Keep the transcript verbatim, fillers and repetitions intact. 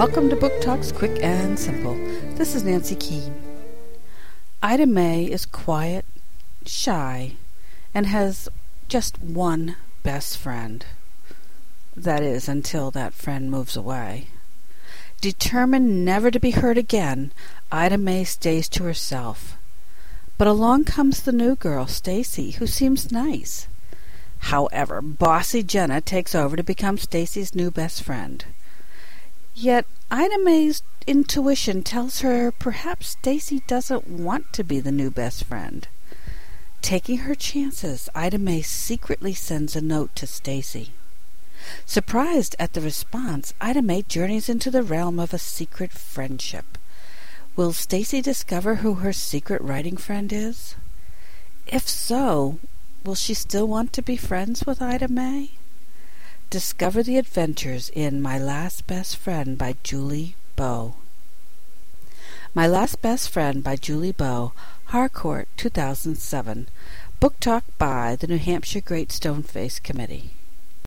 Welcome to Book Talks Quick and Simple. This is Nancy Keene. Ida May is quiet, shy, and has just one best friend. That is, until that friend moves away. Determined never to be hurt again, Ida May stays to herself. But along comes the new girl, Stacy, who seems nice. However, bossy Jenna takes over to become Stacy's new best friend. Yet Ida May's intuition tells her perhaps Stacy doesn't want to be the new best friend. Taking her chances, Ida May secretly sends a note to Stacy. Surprised at the response, Ida May journeys into the realm of a secret friendship. Will Stacy discover who her secret writing friend is? If so, will she still want to be friends with Ida May? Discover the adventures in My Last Best Friend by Julie Bowe. My Last Best Friend by Julie Bowe, Harcourt, two thousand seven. Book Talk by the New Hampshire Great Stoneface Committee.